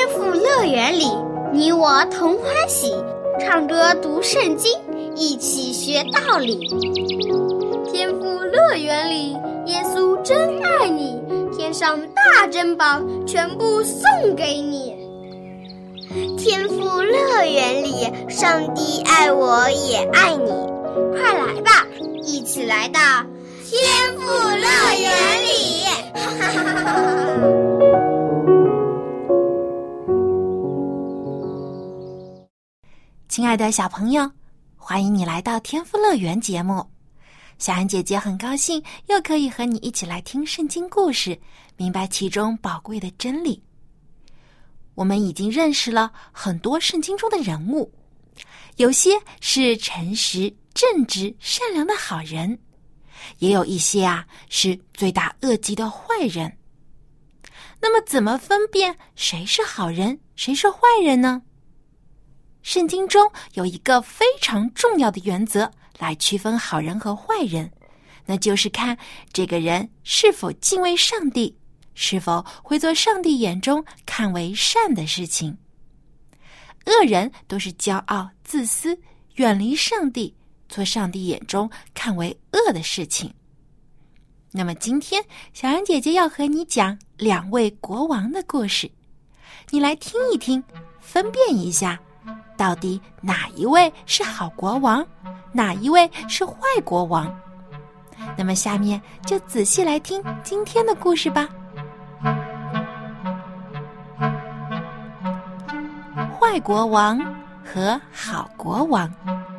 天父乐园里，你我同欢喜，唱歌读圣经，一起学道理。天父乐园里，耶稣真爱你，天上大珍宝全部送给你。 天父乐园里，上帝爱我也爱你， 快来吧，一起来到天父乐园里。 亲爱的小朋友，欢迎你来到天父乐园节目。小安姐姐很高兴又可以和你一起来听圣经故事，明白其中宝贵的真理。我们已经认识了很多圣经中的人物，有些是诚实、正直、善良的好人，也有一些是罪大恶极的坏人。那么怎么分辨谁是好人，谁是坏人呢？圣经中有一个非常重要的原则来区分好人和坏人，那就是看这个人是否敬畏上帝，是否会做上帝眼中看为善的事情。恶人都是骄傲、自私，远离上帝，做上帝眼中看为恶的事情。那么今天小安姐姐要和你讲2位国王的故事，你来听一听，分辨一下到底哪一位是好国王，哪一位是坏国王。那么下面就仔细来听今天的故事吧。坏国王和好国王。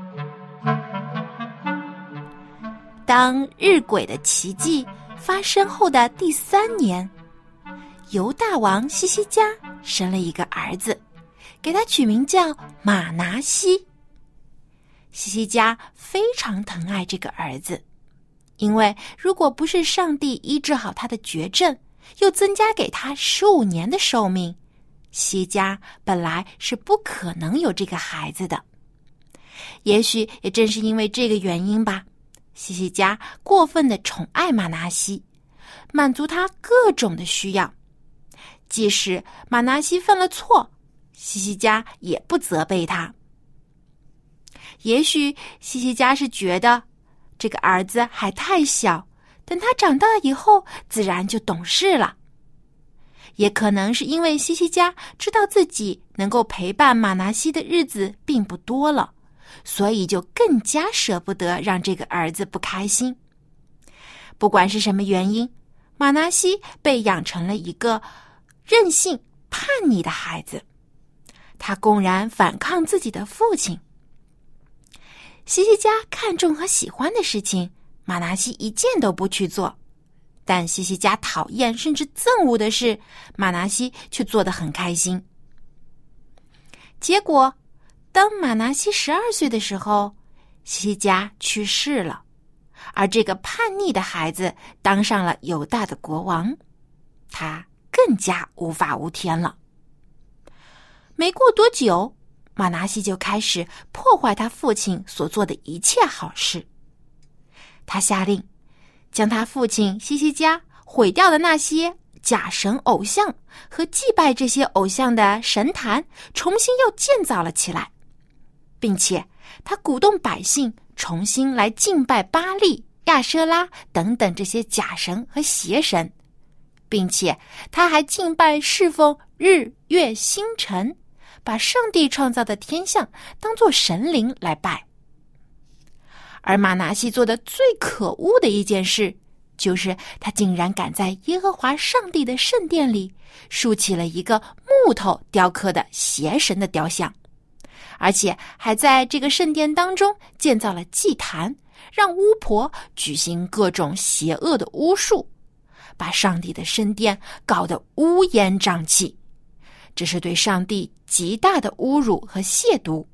当日晷的奇迹发生后的第3年，犹大王西西家生了一个儿子，给他取名叫马拿西。西西家非常疼爱这个儿子，因为如果不是上帝医治好他的绝症，又增加给他15年的寿命，西家本来是不可能有这个孩子的。也许也正是因为这个原因吧，西西家过分的宠爱马拿西，满足他各种的需要。即使马拿西犯了错，西西家也不责备他。也许西西家是觉得这个儿子还太小，等他长大以后自然就懂事了。也可能是因为西西家知道自己能够陪伴马拿西的日子并不多了，所以就更加舍不得让这个儿子不开心。不管是什么原因，马拿西被养成了一个任性叛逆的孩子，他公然反抗自己的父亲。西西家看重和喜欢的事情，马拿西一件都不去做，但西西家讨厌甚至憎恶的事，马拿西却做得很开心。结果当马拿西12岁的时候，西西家去世了，而这个叛逆的孩子当上了犹大的国王，他更加无法无天了。没过多久，马拿西就开始破坏他父亲所做的一切好事。他下令将他父亲西西家毁掉的那些假神偶像和祭拜这些偶像的神坛重新又建造了起来，并且他鼓动百姓重新来敬拜巴利、亚舍拉等等这些假神和邪神，并且他还敬拜侍奉日月星辰，把上帝创造的天象当作神灵来拜。而马拿西做的最可恶的一件事，就是他竟然敢在耶和华上帝的圣殿里竖起了一个木头雕刻的邪神的雕像，而且还在这个圣殿当中建造了祭坛，让巫婆举行各种邪恶的巫术，把上帝的圣殿搞得乌烟瘴气。这是对上帝极大的侮辱和亵渎。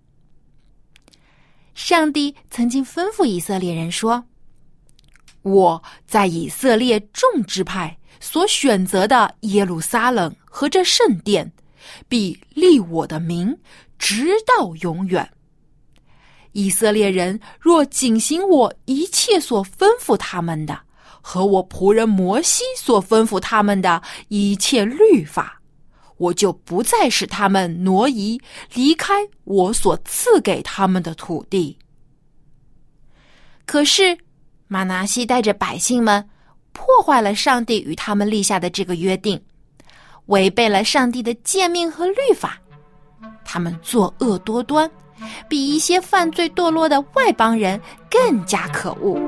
上帝曾经吩咐以色列人说，我在以色列众支派所选择的耶路撒冷和这圣殿，必立我的名，直到永远。以色列人若谨行我一切所吩咐他们的，和我仆人摩西所吩咐他们的一切律法， 我就不再使他们挪移，离开我所赐给他们的土地。可是玛拿西带着百姓们破坏了上帝与他们立下的这个约定，违背了上帝的诫命和律法。他们作恶多端，比一些犯罪堕落的外邦人更加可恶。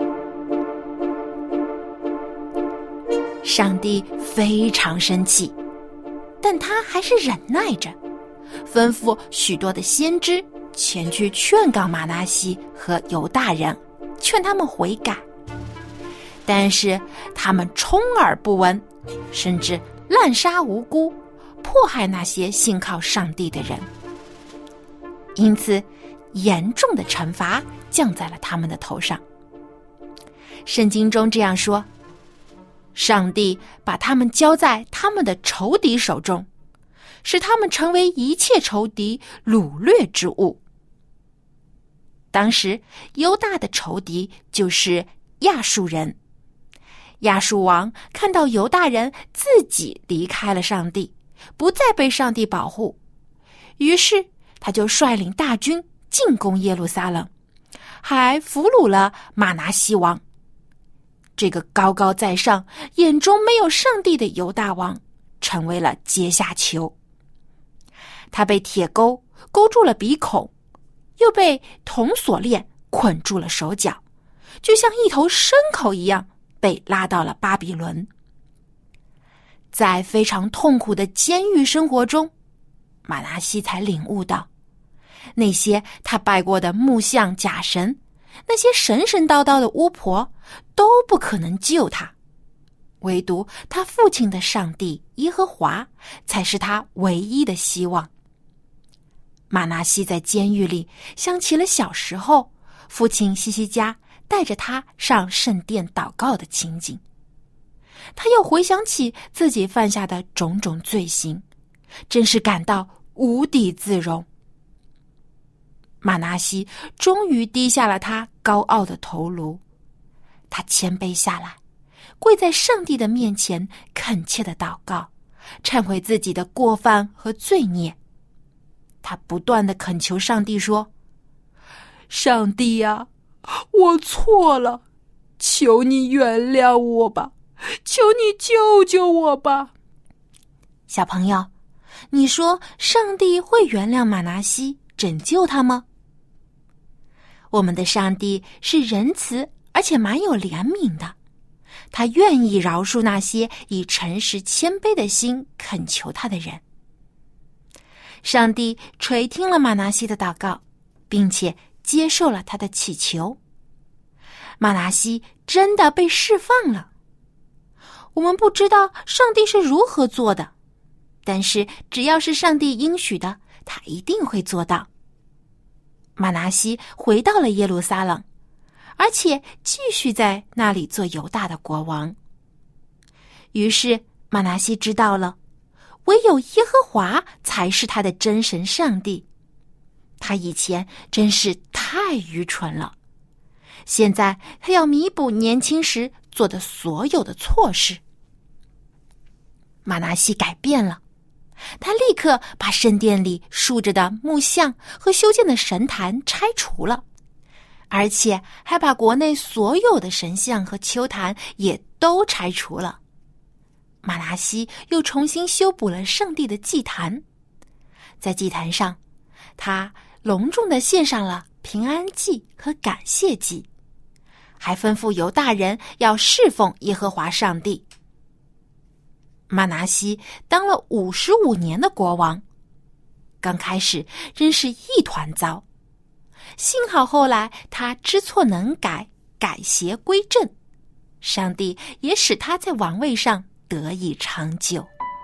上帝非常生气，但他还是忍耐着，吩咐许多的先知前去劝告玛拿西和犹大人，劝他们悔改。但是他们充耳不闻，甚至滥杀无辜，迫害那些信靠上帝的人。因此严重的惩罚降在了他们的头上。圣经中这样说，上帝把他们交在他们的仇敌手中，使他们成为一切仇敌掳掠之物。当时犹大的仇敌就是亚述人。亚述王看到犹大人自己离开了上帝，不再被上帝保护，于是他就率领大军进攻耶路撒冷，还俘虏了玛拿西王。这个高高在上，眼中没有上帝的犹大王成为了阶下囚。他被铁钩勾住了鼻孔，又被铜锁链捆住了手脚，就像一头牲口一样被拉到了巴比伦。在非常痛苦的监狱生活中，玛拿西才领悟到，那些他拜过的木像假神，那些神神叨叨的巫婆都不可能救他，唯独他父亲的上帝耶和华才是他唯一的希望。玛拿西在监狱里想起了小时候父亲西西家带着他上圣殿祷告的情景，他又回想起自己犯下的种种罪行，真是感到无地自容。玛拿西终于低下了他高傲的头颅，他谦卑下来，跪在上帝的面前恳切地祷告，忏悔自己的过犯和罪孽。他不断地恳求上帝说，上帝啊，我错了，求你原谅我吧，求你救救我吧。小朋友，你说上帝会原谅玛拿西，拯救他吗？我们的上帝是仁慈而且蛮有怜悯的，他愿意饶恕那些以诚实谦卑的心恳求他的人。上帝垂听了玛拿西的祷告，并且接受了他的祈求。玛拿西真的被释放了。我们不知道上帝是如何做的，但是只要是上帝应许的，他一定会做到。玛拿西回到了耶路撒冷，而且继续在那里做犹大的国王。于是玛拿西知道了，唯有耶和华才是他的真神上帝。他以前真是太愚蠢了，现在他要弥补年轻时做的所有的错事。玛拿西改变了，他立刻把圣殿里竖着的木像和修建的神坛拆除了，而且还把国内所有的神像和丘坛也都拆除了。玛拿西又重新修补了上帝的祭坛，在祭坛上，他隆重地献上了平安祭和感谢祭，还吩咐犹大人要侍奉耶和华上帝。玛拿西当了55年的国王，刚开始真是一团糟，幸好后来他知错能改，改邪归正，上帝也使他在王位上得以长久。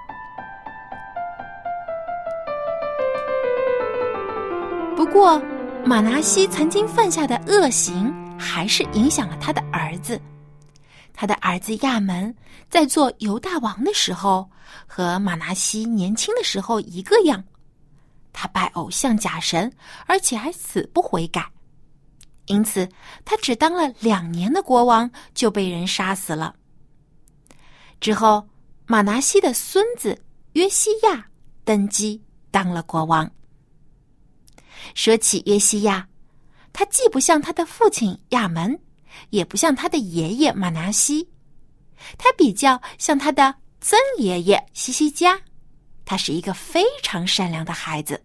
不过玛拿西曾经犯下的恶行还是影响了他的儿子。他的儿子亚门在做犹大王的时候，和玛拿西年轻的时候一个样，他拜偶像假神，而且还死不悔改。因此他只当了2年的国王就被人杀死了。之后玛拿西的孙子约西亚登基当了国王。说起约西亚，他既不像他的父亲亚门，也不像他的爷爷马拿西，他比较像他的曾爷爷西西家。他是一个非常善良的孩子。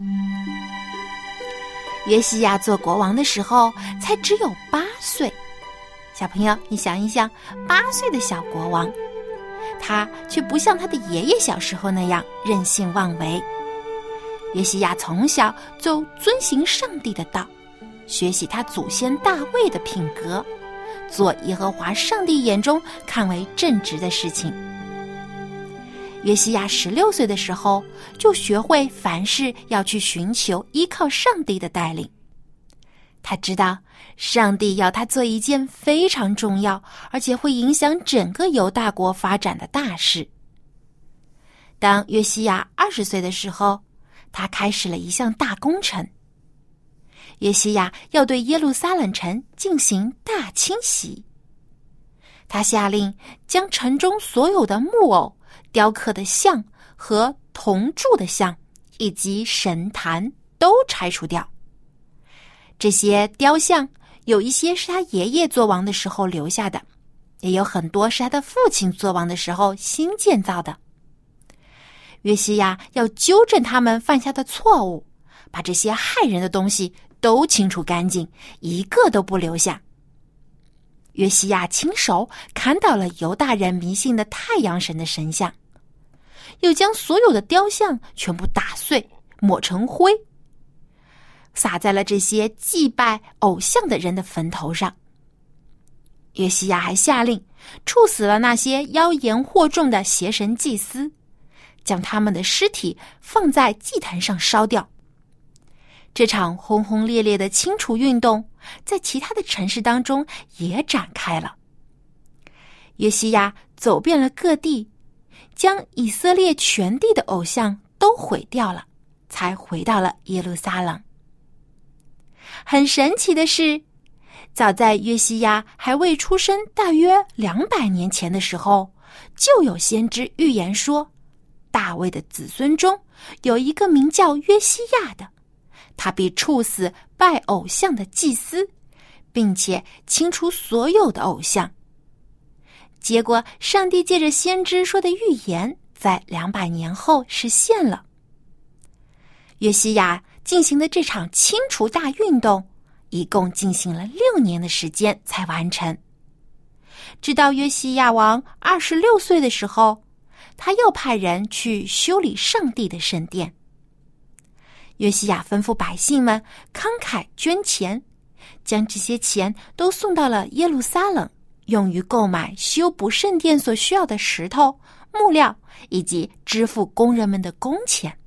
约西亚做国王的时候才只有8岁。小朋友，你想一想，8岁的小国王，他却不像他的爷爷小时候那样任性妄为。约西亚从小就遵行上帝的道，学习他祖先大卫的品格，做耶和华上帝眼中看为正直的事情。约西亚16岁的时候，就学会凡事要去寻求依靠上帝的带领。他知道上帝要他做一件非常重要，而且会影响整个犹大国发展的大事。当约西亚20岁的时候，他开始了一项大工程。约西亚要对耶路撒冷城进行大清洗。他下令将城中所有的木偶、雕刻的像和铜铸的像以及神坛都拆除掉。这些雕像有一些是他爷爷做王的时候留下的，也有很多是他的父亲做王的时候新建造的。约西亚要纠正他们犯下的错误，把这些害人的东西都清除干净，一个都不留下。约西亚亲手砍倒了犹大人迷信的太阳神的神像，又将所有的雕像全部打碎，抹成灰，撒在了这些祭拜偶像的人的坟头上。约西亚还下令处死了那些妖言惑众的邪神祭司，将他们的尸体放在祭坛上烧掉。这场轰轰烈烈的清除运动在其他的城市当中也展开了。约西亚走遍了各地，将以色列全地的偶像都毁掉了，才回到了耶路撒冷。很神奇的是，早在约西亚还未出生大约200年前的时候，就有先知预言说，大卫的子孙中有一个名叫约西亚的，他必处死拜偶像的祭司，并且清除所有的偶像。结果上帝借着先知说的预言在200年后实现了。约西亚进行的这场清除大运动一共进行了6年的时间才完成。直到约西亚王26岁的时候，他又派人去修理上帝的圣殿。约西亚吩咐百姓们慷慨捐钱，将这些钱都送到了耶路撒冷，用于购买修补圣殿所需要的石头、木料，以及支付工人们的工钱。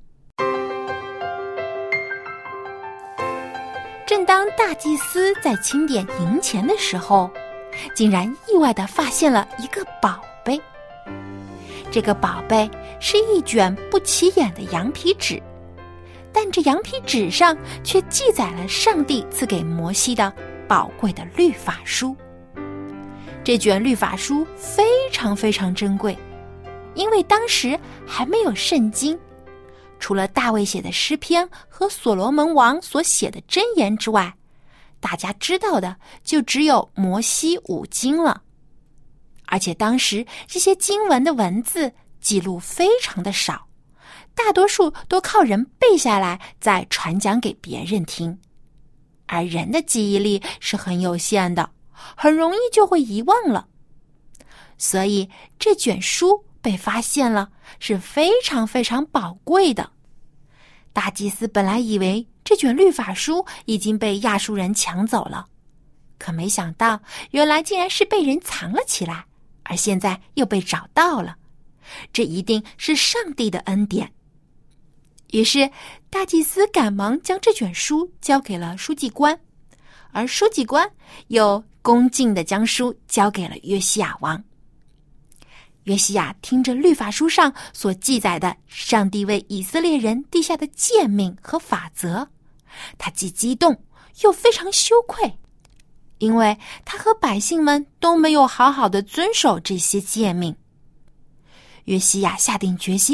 正当大祭司在清点银钱的时候，竟然意外地发现了一个宝贝。这个宝贝是一卷不起眼的羊皮纸，但这羊皮纸上却记载了上帝赐给摩西的宝贵的律法书。这卷律法书非常非常珍贵，因为当时还没有圣经，除了大卫写的诗篇和所罗门王所写的箴言之外，大家知道的就只有摩西5经了。而且当时这些经文的文字记录非常的少，大多数都靠人背下来再传讲给别人听，而人的记忆力是很有限的，很容易就会遗忘了。所以这卷书被发现了是非常非常宝贵的。大祭司本来以为这卷律法书已经被亚述人抢走了，可没想到原来竟然是被人藏了起来，而现在又被找到了，这一定是上帝的恩典。于是大祭司赶忙将这卷书交给了书记官，而书记官又恭敬地将书交给了约西亚王。约西亚听着律法书上所记载的上帝为以色列人定下的诫命和法则，他既激动又非常羞愧，因为他和百姓们都没有好好的遵守这些诫命。约西亚下定决心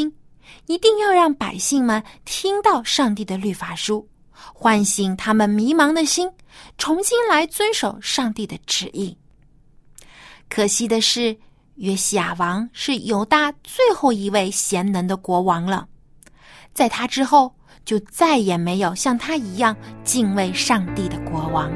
一定要让百姓们听到上帝的律法书，唤醒他们迷茫的心，重新来遵守上帝的旨意。可惜的是，约西亚王是犹大最后一位贤能的国王了，在他之后就再也没有像他一样敬畏上帝的国王。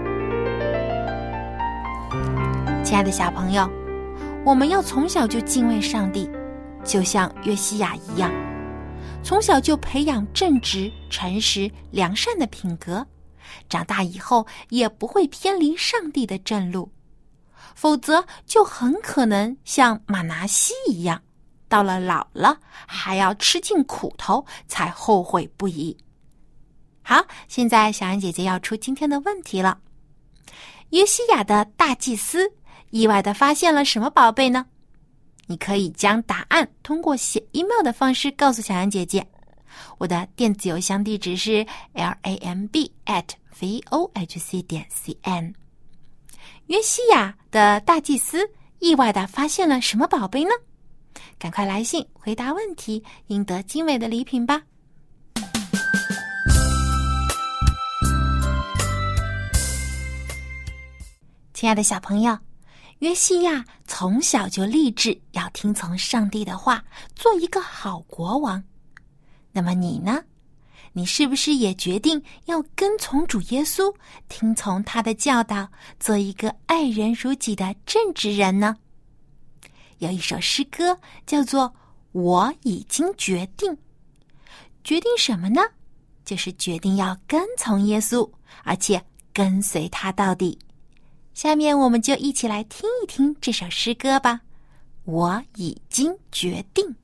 亲爱的小朋友，我们要从小就敬畏上帝，就像约西亚一样，从小就培养正直、诚实、良善的品格，长大以后也不会偏离上帝的正路，否则就很可能像马拿西一样，到了老了还要吃尽苦头才后悔不已。好，现在小安姐姐要出今天的问题了。约西亚的大祭司意外地发现了什么宝贝呢？你可以将答案通过写 email 的方式告诉小安姐姐。我的电子邮箱地址是 lamb@vohc.cn。 约西亚的大祭司意外地发现了什么宝贝呢？赶快来信回答问题，赢得精美的礼品吧。亲爱的小朋友，约西亚从小就立志要听从上帝的话，做一个好国王。那么你呢？你是不是也决定要跟从主耶稣，听从他的教导，做一个爱人如己的正直人呢？有一首诗歌叫做《我已经决定》，决定什么呢？就是决定要跟从耶稣，而且跟随他到底。下面我们就一起来听一听这首诗歌吧。我已经决定。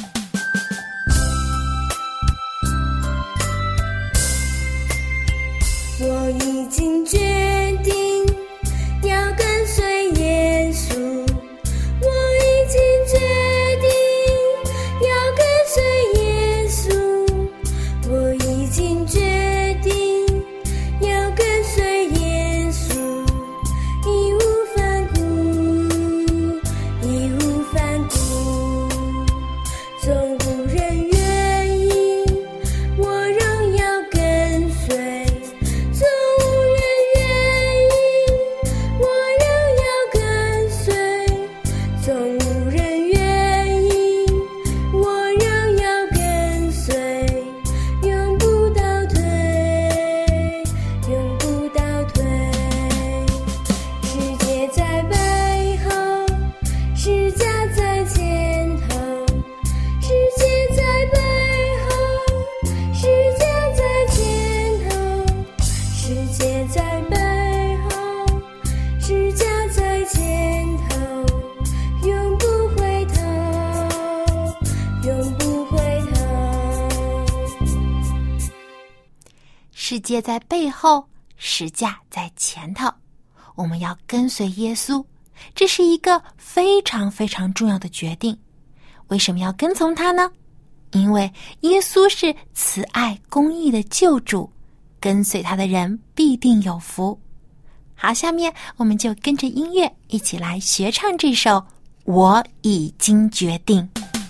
我已经决定要跟随耶稣，我已经决定要跟随耶稣，我已经决定要跟随耶稣，义无反顾，义无反顾，纵无人愿意，我仍要跟随。 世界在背后，十架在前头。我们要跟随耶稣，这是一个非常非常重要的决定。为什么要跟从他呢？因为耶稣是慈爱公义的救主，跟随他的人必定有福。好，下面我们就跟着音乐一起来学唱这首《我已经决定》。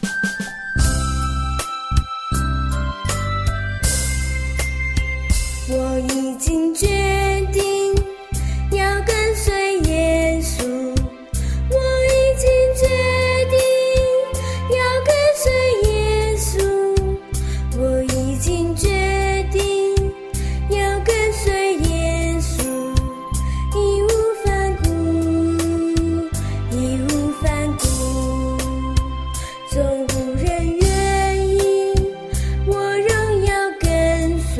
我已经决定要跟随耶稣，我已经决定要跟随耶稣，我已经决定要跟随耶稣，义无反顾，义无反顾，纵无人愿意，我仍要跟随。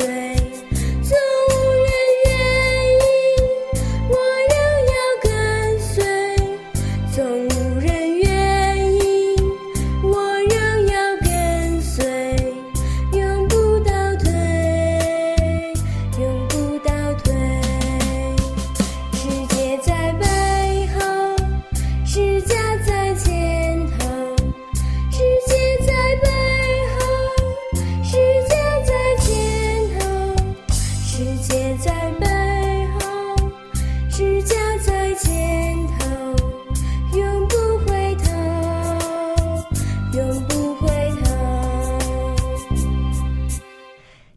永不回头，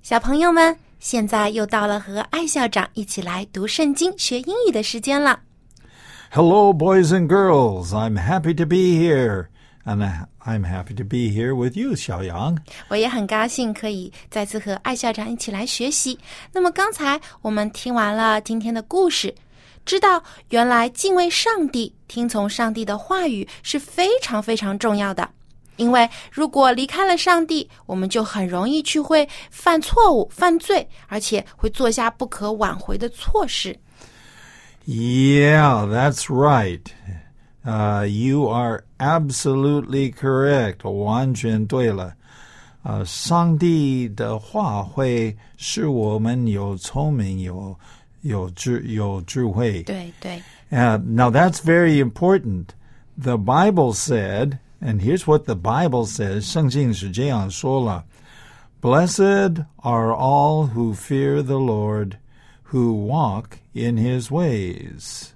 小朋友们，现在又到了和艾校长一起来读圣经学英语的时间了。 Hello, boys and girls. I'm happy to be here. And I'm happy to be here with you, 小杨。 我也很高兴可以再次和艾校长一起来学习。那么刚才我们听完了今天的故事，知道原来敬畏上帝、听从上帝的话语是非常非常重要的。因为如果离开了上帝，我们就很容易去会犯错误、犯罪，而且会做下不可挽回的错事。 Yeah, that's right. You are absolutely correct. 完全对了。上帝的话会使我们有聪明、有智慧。 对对。 Now that's very important. The Bible said...And here's what the Bible says. 圣经是这样说了 Blessed are all who fear the Lord, who walk in his ways.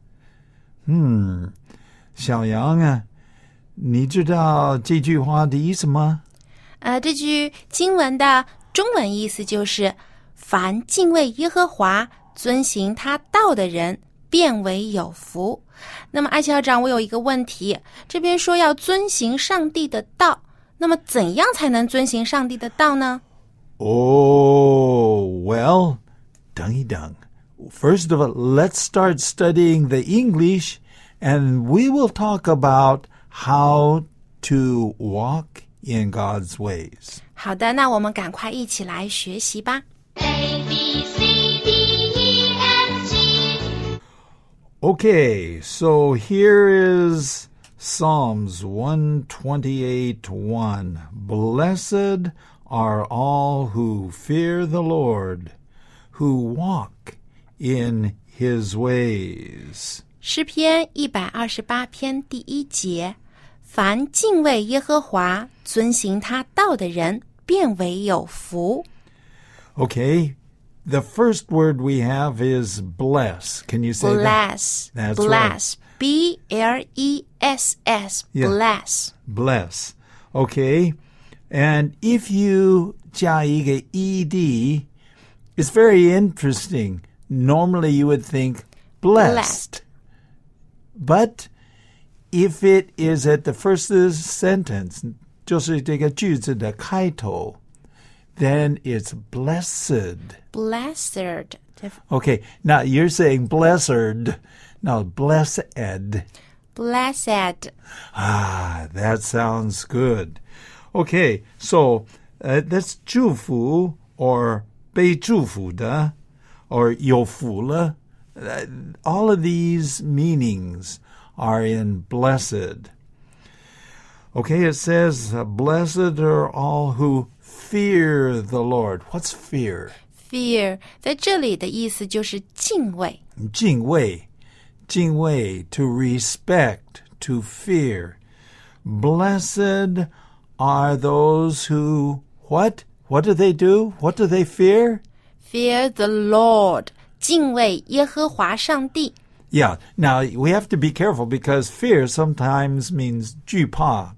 小杨啊，你知道这句话的意思吗？ 这句经文的中文意思就是凡敬畏耶和华、遵行他道的人，便为有福。那么艾校长，我有一个问题，这边说要遵行上帝的道，那么怎样才能遵行上帝的道呢？ Well, 等一等。First of all, let's start studying the English, and we will talk about how to walk in God's ways. 好的，那我们赶快一起来学习吧。 Okay, so here is Psalms 128:1. Blessed are all who fear the Lord, who walk in his ways. 诗篇128篇第1节，凡敬畏耶和华、遵行他道的人，便为有福。 Okay.The first word we have is bless. Can you say bless, that? That's bless. right. B-L-E-S-S. Yeah. Bless. Bless. Okay. And if you 加一个 ed, it's very interesting. Normally you would think blessed. But if it is at the first sentence, 就是这个句子的开头, then it's blessed. Blessed. Okay, now you're saying blessed. No, blessed. Blessed. That sounds good. Okay, so that's 祝福 or 被祝福的 or 有福了. All of these meanings are in blessed. Okay, it says, blessed are all who fear the Lord. What's fear? Fear 在这里的意思就是敬畏。 敬畏 to respect, to fear. Blessed are those who, what? What do they do? What do they fear? Fear the Lord. 敬畏耶和華上帝。 Yeah, now we have to be careful because fear sometimes means 惧怕,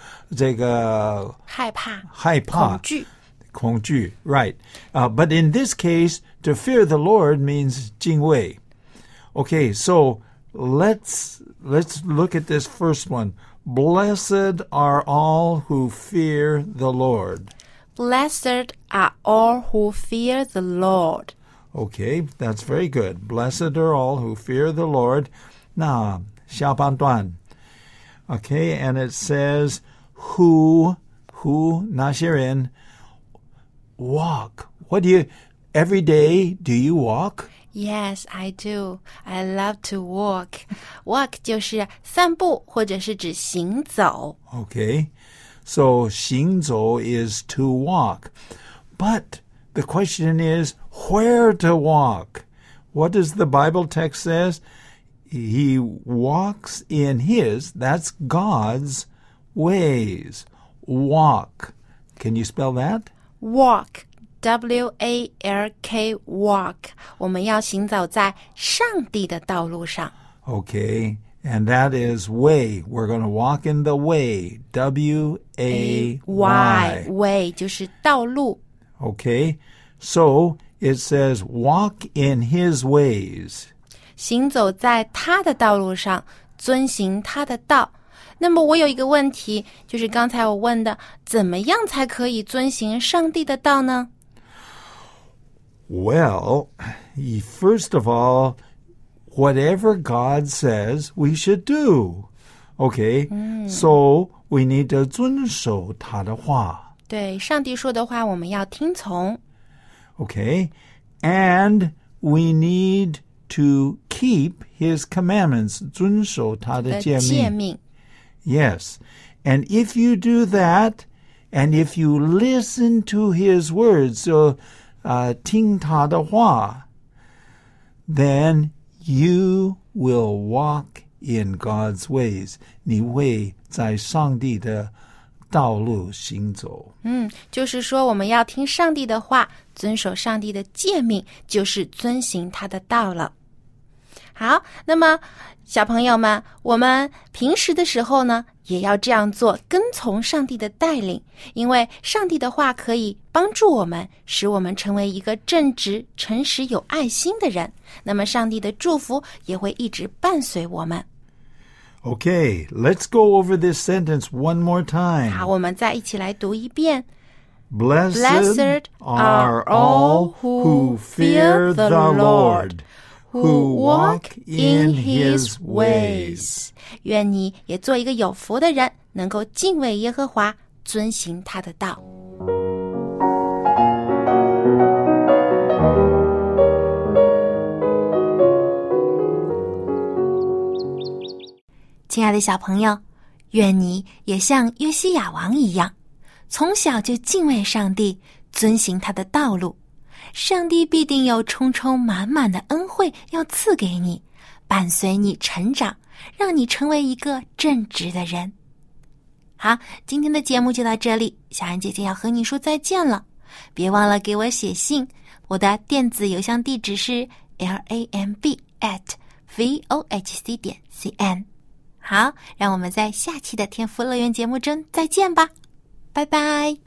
害怕。 恐惧, right. But in this case, to fear the Lord means 敬畏. Okay, so let's look at this first one. Blessed are all who fear the Lord. Blessed are all who fear the Lord. Okay, that's very good. Blessed are all who fear the Lord. 那下半段. Okay, and it says, who 那些人 walk. Every day, do you walk? Yes, I do. I love to walk. Walk 就是散步或者是指行走。 Okay, so 行走 is to walk. But the question is, where to walk? What does the Bible text says? He walks in his, that's God's ways. Walk. Can you spell that? Walk. W-A-L-K, walk. 我们要行走在上帝的道路上。 Okay, and that is way. We're going to walk in the way. W-A-Y. Way 就是道路。 Okay, so it says walk in his ways. 行走在他的道路上，遵行他的道。那么我有一个问题，就是刚才我问的，怎么样才可以遵行上帝的道呢？ Well, first of all, whatever God says we should do. Okay, so we need to 遵守他的话。 对，上帝说的话我们要听从。 Okay, and we need to keep his commandments. 遵守他的诫命。Yes, and if you do that, and if you listen to his words, so 听他的话 then you will walk in God's ways. 你会在上帝的道路行走。 就是说我们要听上帝的话，遵守上帝的诫命，就是遵行他的道了。好，那么小朋友们，我们平时的时候呢，也要这样做，跟从上帝的带领，因为上帝的话可以帮助我们，使我们成为一个正直、诚实、有爱心的人。那么上帝的祝福也会一直伴随我们。 Okay, let's go over this sentence one more time. 好，我们再一起来读一遍。 Blessed are all who fear the Lord, who walk in his ways. 愿你也做一个有福的人，能够敬畏耶和华，遵行他的道。亲爱的小朋友，愿你也像约西亚王一样，从小就敬畏上帝，遵行他的道路。上帝必定有充充满满的恩惠要赐给你，伴随你成长，让你成为一个正直的人。好，今天的节目就到这里，小安姐姐要和你说再见了。别忘了给我写信，我的电子邮箱地址是 lamb@vohc.cn。好，让我们在下期的天赋乐园节目中再见吧，拜拜。